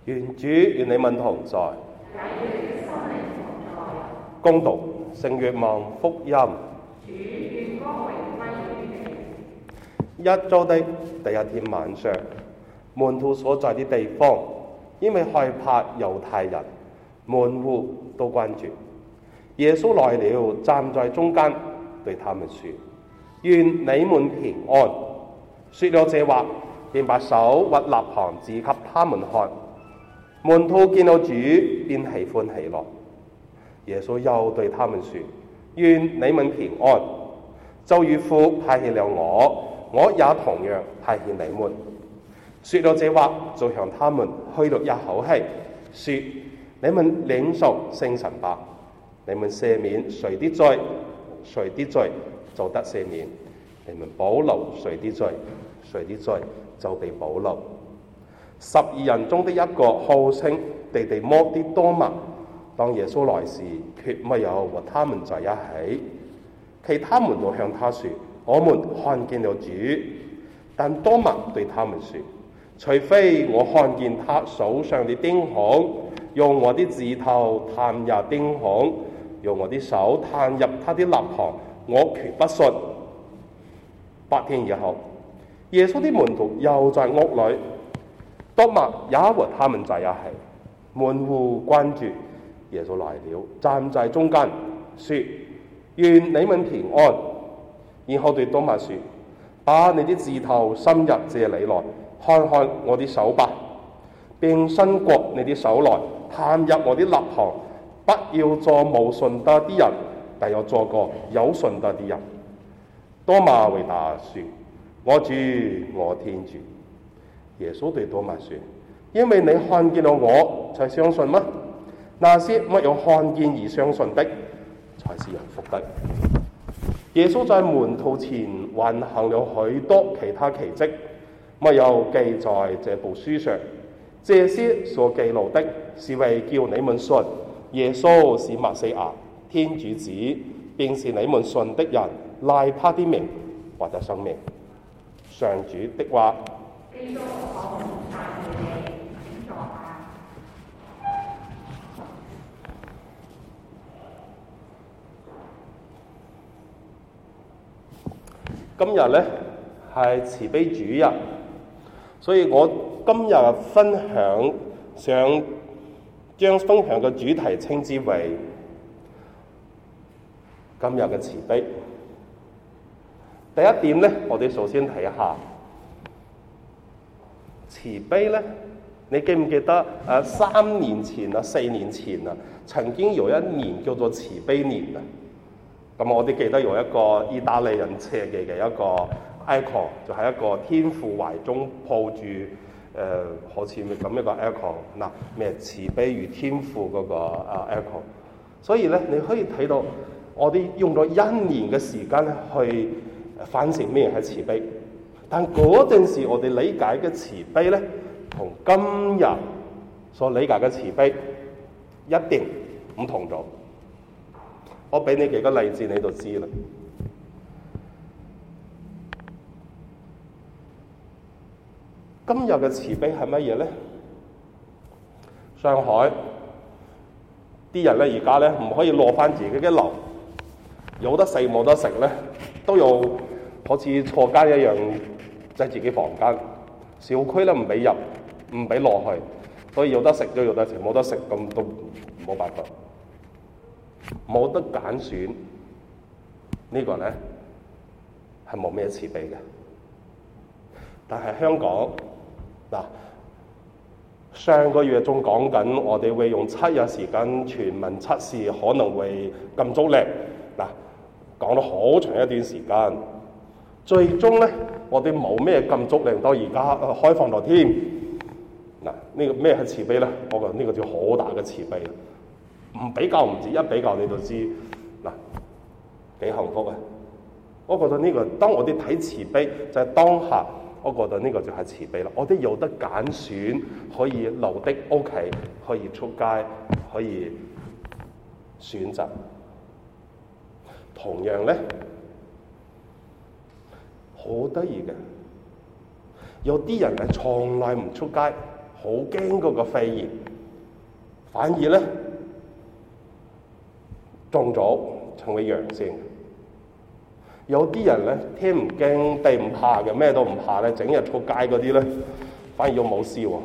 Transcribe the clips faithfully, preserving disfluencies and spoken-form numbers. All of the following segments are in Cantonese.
願主與你們同在。恭讀聖若望福音。一周的第一天晚上，門徒所在的地方，因為害怕猶太人，門戶都關住。耶穌來了，站在中間，對他們說：願你們平安。說了這話，便把手和肋旁指給他們看。門徒見到主，便喜歡喜樂。耶穌又對他們說：願你們平安。就如父派遣了我，我也同樣派遣你們。說了這話，就向他們噓了一口氣，說：你們領受聖神吧。你們赦免誰的罪，誰的罪就得赦免；你們保留誰的罪，誰的罪就被保留。十二人中的一個號稱地地摩的多默，當耶穌來時，卻沒有和他們在一起。其他門徒向他說：我們看見了主。但多默對他們說：除非我看見他手上的釘孔，用我的指頭探入釘孔，用我的手探入他的肋旁，我決不信。八天以後，耶穌的門徒又在屋裏，多默也和他們在一起。門戶關住，耶穌來了，站在中間，說：願你們平安。然後對多默說：把你的指頭伸入這裡來，看看我的手吧，並伸過你的手來，探入我的肋旁。不要做無信德的人，但要做個有信德的人。多默回答說：我主，我天主。耶穌對多默說：因為你看見了我，才相信嗎？那些沒有看見而相信的，才是有福的。耶穌在門徒前還行了許多其他奇蹟，沒有記在這部書上。這些所記錄的，是為叫你們信耶穌是默西亞，天主子，並是你們信的人賴他的名獲得生命。上主的話。今日呢係慈悲主日，所以我今日分享想將分享嘅主題稱之為今日嘅慈悲。第一點呢，我哋首先睇下慈悲呢，你記唔記得誒三年前啊、四年前啊，曾經有一年叫做慈悲年啊？咁我哋記得有一個意大利人設計嘅一個 icon， 就係一個天父懷中抱住誒、呃、好似咁一個 icon， 嗱咩慈悲如天父嗰個啊 icon。所以咧，你可以睇到我哋用咗一年嘅時間去反省咩係慈悲，但嗰陣時我哋理解嘅慈悲咧，同今日所理解嘅慈悲一定唔同咗。我俾你幾個例子，你就知啦。今日嘅慈悲係乜嘢咧？上海啲人咧，而家咧唔可以落翻自己嘅樓，有得食冇得食咧，都要好似坐監一樣，喺自己房間。小區咧唔俾入，唔俾落去，所以有得食都有得食，冇得食咁都冇辦法。冇得揀選，這個、呢個咧係冇咩慈悲嘅。但係香港嗱，上個月仲講緊我哋會用七日時間全民測試，可能會禁足令嗱，講咗好長一段時間，最終咧我哋冇咩禁足令，到而家開放咗添嗱。呢、這個咩係慈悲咧？我覺得呢個叫好大嘅慈悲。唔比較唔止，一比較你就知嗱幾幸福啊！我覺得呢、這個當我哋睇慈悲就係、是、當下，我覺得呢個就係慈悲啦。我哋有得揀選，可以留的屋企，可以出街，可以選擇。同樣咧，好得意嘅，有啲人係從來唔出街， 好驚嗰個肺炎，反而咧中咗成為陽性。有啲人咧天唔驚地唔怕嘅，咩都唔怕咧，整日出街嗰啲咧，反而又冇事喎。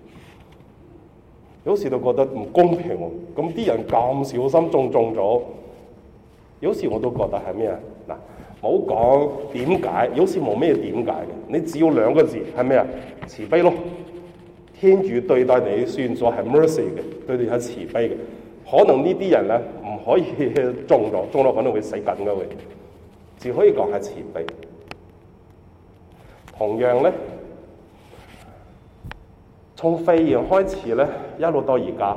有時都覺得唔公平喎，咁啲人咁小心中中咗，有時我都覺得係咩啊？嗱，冇講點解，有時冇咩點解嘅，你只要兩個字係咩啊？慈悲咯。天主對待你算作係 mercy 嘅，對你係慈悲嘅。可能呢啲人咧唔可以中咗，中咗可能會死緊嘅會。只可以講係慈悲。同樣咧，從肺炎開始咧，一路到而家，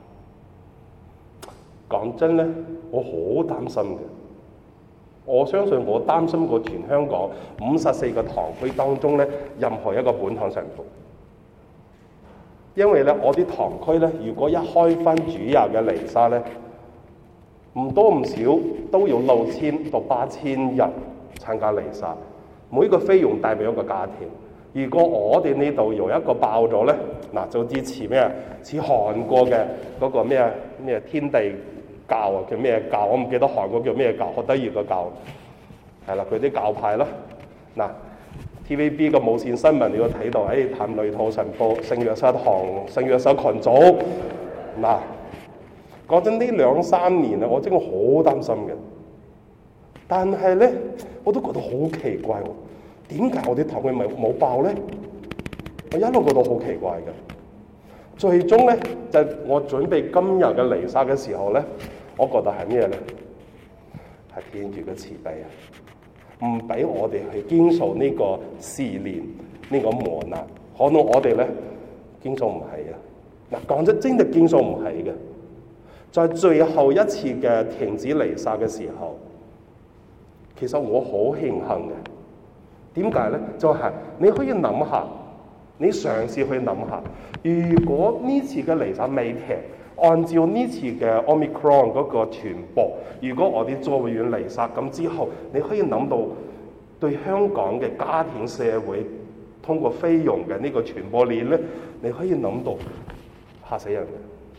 講真咧，我好擔心嘅。我相信我擔心過全香港五十四個堂區當中咧，任何一個本堂神父，因為咧我啲堂區咧，如果一開翻主日嘅彌撒咧，唔多唔少都要六千到八千人參加彌撒，每個費用帶俾一個家庭。如果我哋呢度有一個爆咗咧，嗱就支持咩啊？似韓國嘅嗰個咩咩天地教啊，叫咩教？我唔記得韓國叫咩教，好得意個教，係啦，佢啲教派啦。嗱 T V B 個無線新聞你都睇到，誒、哎、譚雷圖神父聖約瑟堂聖約瑟群組嗱。講真，呢兩三年啊，我真係好擔心嘅。但係咧，我都覺得好奇怪喎，點解我啲堂區咪冇爆咧？我一路覺得好奇怪嘅。最終咧，就係、我準備今日嘅彌撒嘅時候咧，我覺得係咩咧？係天主嘅慈悲啊，唔俾我哋去經受呢個試煉、呢、呢個磨難。可能我哋咧經受唔起啊。嗱，講真，真係經受唔起嘅。在最後一次嘅停止彌撒嘅時候，其實我好慶幸嘅。點解咧？就係、是、你可以諗下，你嘗試去諗下，如果呢次嘅彌撒未停，按照呢次嘅 Omicron 嗰個傳播，如果我哋做完彌撒咁之後，你可以諗到對香港嘅家庭社會通過菲傭嘅呢個傳播鏈咧，你可以諗到嚇死人嘅。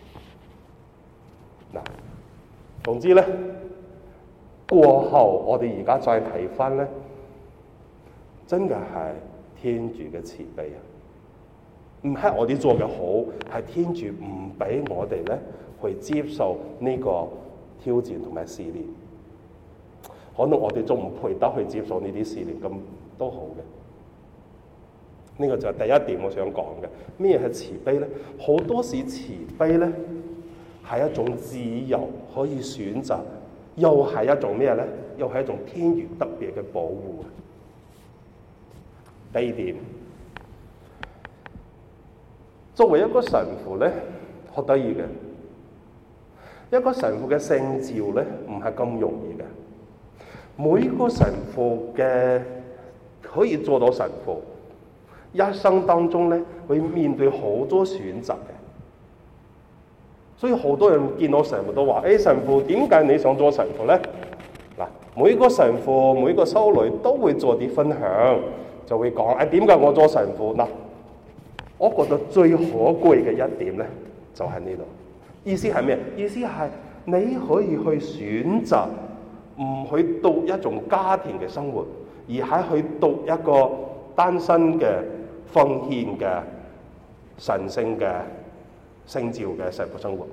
嗱，總之咧，過後我哋而家再睇翻咧，真嘅係天主嘅慈悲啊！唔係我哋做嘅好，係天主唔俾我哋咧去接受呢個挑戰同埋試煉。可能我哋仲唔配得去接受呢啲試煉，咁都好嘅。呢個就係第一點我想講嘅。咩係慈悲咧？好多時慈悲咧，係一種自由可以選擇，又係一種咩咧？又係一種天主特別嘅保護。第二點，作為一個神父咧，好得意嘅，一個神父嘅聖召咧，唔係咁容易嘅。每個神父嘅可以做到神父，一生當中咧會面對好多選擇嘅。所以好多人見到神父都話：誒、哎、神父點解你想做神父咧？嗱，每個神父每個修女都會做啲分享，就會講：誒點解我做神父？嗱，我覺得最可貴嘅一點咧，就喺呢度。意思係咩？意思係你可以去選擇唔去度一種家庭嘅生活，而係去度一個單身嘅奉獻嘅神聖嘅聖召嘅神父生活。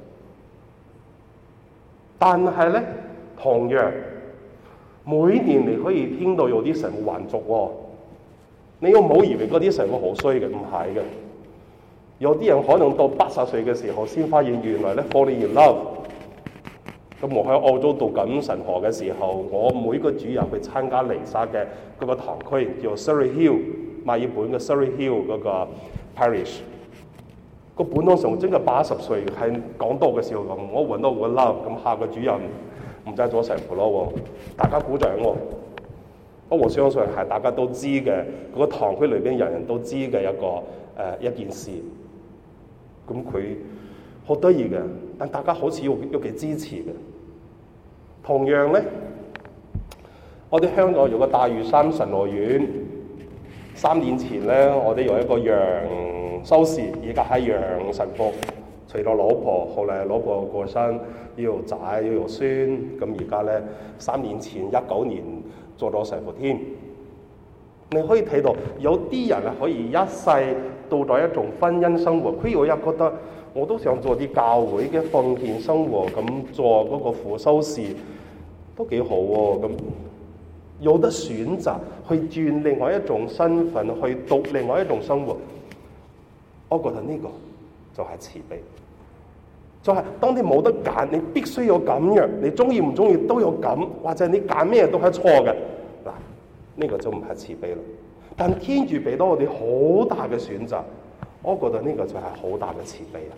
但係咧，同樣每年你可以聽到有啲神父還俗喎，你又唔好以為嗰啲神父好衰嘅，唔係嘅。有啲人可能到八十歲嘅時候先發現原來咧 falling in love。咁我喺澳洲讀緊神學嘅時候，我每個主日去參加彌撒嘅嗰個堂區叫 Surrey Hill， 墨爾本嘅 Surrey Hill 嗰個 parish。個本堂上真係八十歲，係講道嘅時候咁，我揾到我 love， 咁下個主任唔再做神父咯，大家鼓掌喎。不過我相信係大家都知嘅，嗰、那個堂區裏邊人人都知嘅一個誒、呃、一件事。咁佢好得意嘅，但大家好似要要幾支持嘅。同樣咧，我哋香港有個大嶼山神樂院，三年前咧，我哋有一個楊修士，而家係楊神父，除咗老婆，後嚟老婆過身，要有仔要有孫，咁而家咧三年前一九年做咗神父添。你可以睇到有啲人啊可以一世到咗一種婚姻生活，佢又一覺得我都想做啲教會嘅奉獻生活，咁做嗰個副修士都幾好喎、啊。咁有得選擇去轉另外一種身份，去讀另外一種生活，我覺得呢個就係慈悲。就係、是、當你冇得揀，你必須要咁樣，你中意唔中意都有咁，或者你揀咩都係錯嘅。嗱，呢個就唔係慈悲啦。但天主俾到我哋好大嘅選擇，我覺得呢個就係好大嘅慈悲啊！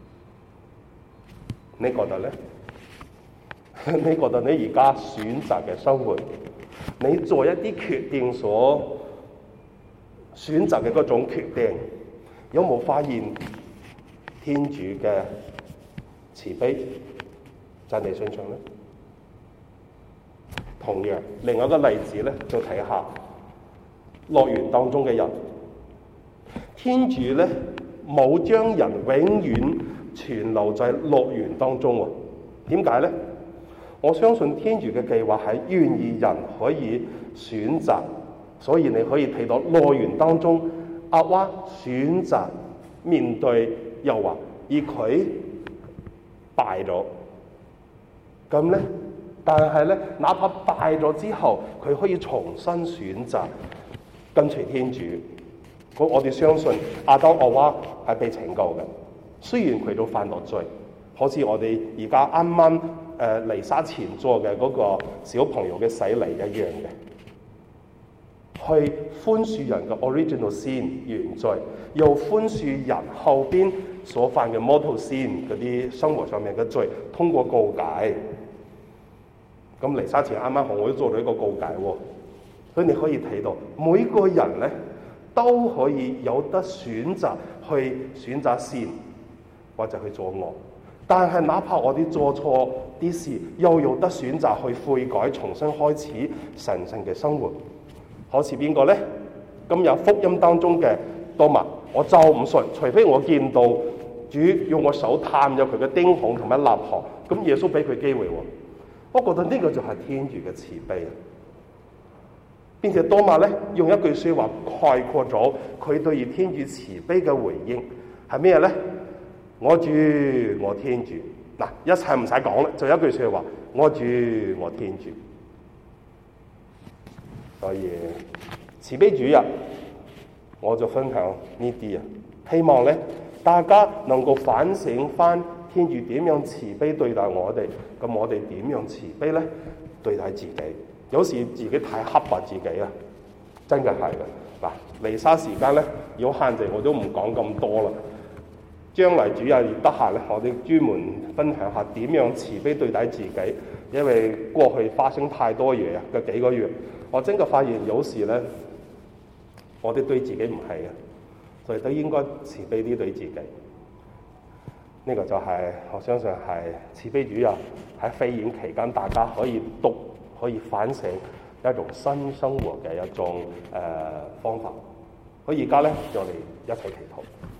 你覺得咧？你覺得你而家選擇嘅生活，你做一啲決定所選擇嘅嗰種決定，有冇發現天主嘅慈悲在你身上咧？同樣，另外一個例子咧，就睇下樂園當中嘅人，天主咧冇將人永遠存留在樂園當中喎。點解咧？我相信天主嘅計劃係願意人可以選擇，所以你可以睇到樂園當中阿娃選擇面對誘惑，而佢敗咗。咁咧，但係咧，哪怕敗咗之後，佢可以重新選擇跟隨天主。我我哋相信亞當夏娃係被拯救嘅，雖然佢都犯咗罪，好似我哋而家啱啱誒彌撒前做嘅嗰個小朋友嘅洗禮一樣嘅，去寬恕人嘅 original sin 原罪，又寬恕人後邊所犯嘅 mortal sin 嗰啲生活上面嘅罪，通過告解。咁彌撒前啱啱好我都做咗一個告解喎，所以你可以睇到每個人咧都可以有得選擇去選擇善或者去做惡，但係哪怕我哋做錯啲事，又有得選擇去悔改，重新開始神聖嘅生活。好似邊個咧？今日福音當中嘅多默，我就唔信，除非我見到主用我手探入佢嘅釘孔同埋肋旁，咁耶穌俾佢機會喎。我覺得呢個就係天主嘅慈悲啊！並且多默咧用一句説話概括咗佢對於天主慈悲嘅回應係咩咧？我主我天主，嗱，一切唔使講啦，就一句説話，我主我天主。所以慈悲主日我就分享呢啲啊，希望咧大家能夠反省翻天主點樣慈悲對待我哋，咁我哋點樣慈悲咧對待自己？有時自己太刻薄自己啊，真嘅係嘅。嗱，彌撒時間咧有限制，我都唔講咁多啦。將來主日得閒咧，我哋專門分享下點樣慈悲對待自己，因為過去發生太多嘢啊，嗰幾個月，我真嘅發現有時咧，我哋對自己唔係嘅，所以都應該慈悲啲對自己。呢、這個就係、是、我相信係慈悲主日喺飛演期間，大家可以讀、可以反省一種新生活嘅一種誒、呃、方法。我而家咧，就嚟一齊祈禱。